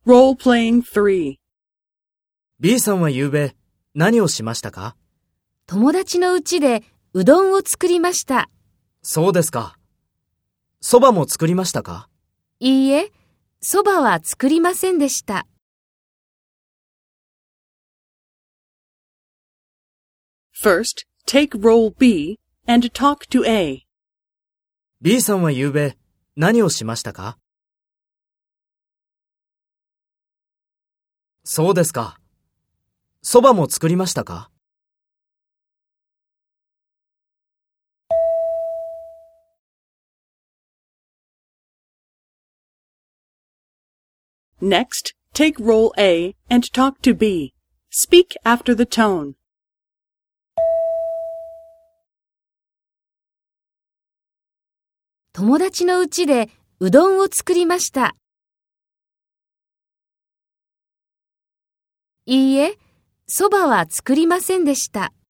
Role-playing 3. B さんは昨べ何をしましたか？ 友達の家でうどんを作りました。 そうですか。そばも作りましたか？ いいえ、そばは作りませんでした。 First, take role B and talk to A. B さんは昨べ何をしましたか？そうですか。そばも作りましたか？ Next, take role A and talk to B. Speak after the tone. 友達の家でうどんを作りました。いいえ、そばは作りませんでした。